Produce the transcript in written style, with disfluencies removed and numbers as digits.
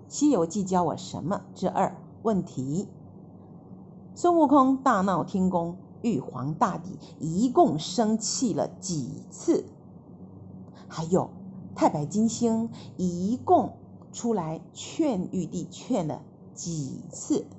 西遊記教我什麼？之二。問題：孫悟空大鬧天宮，玉皇大帝一共生氣了幾次？還有太白金星一共出來勸玉帝勸了幾次？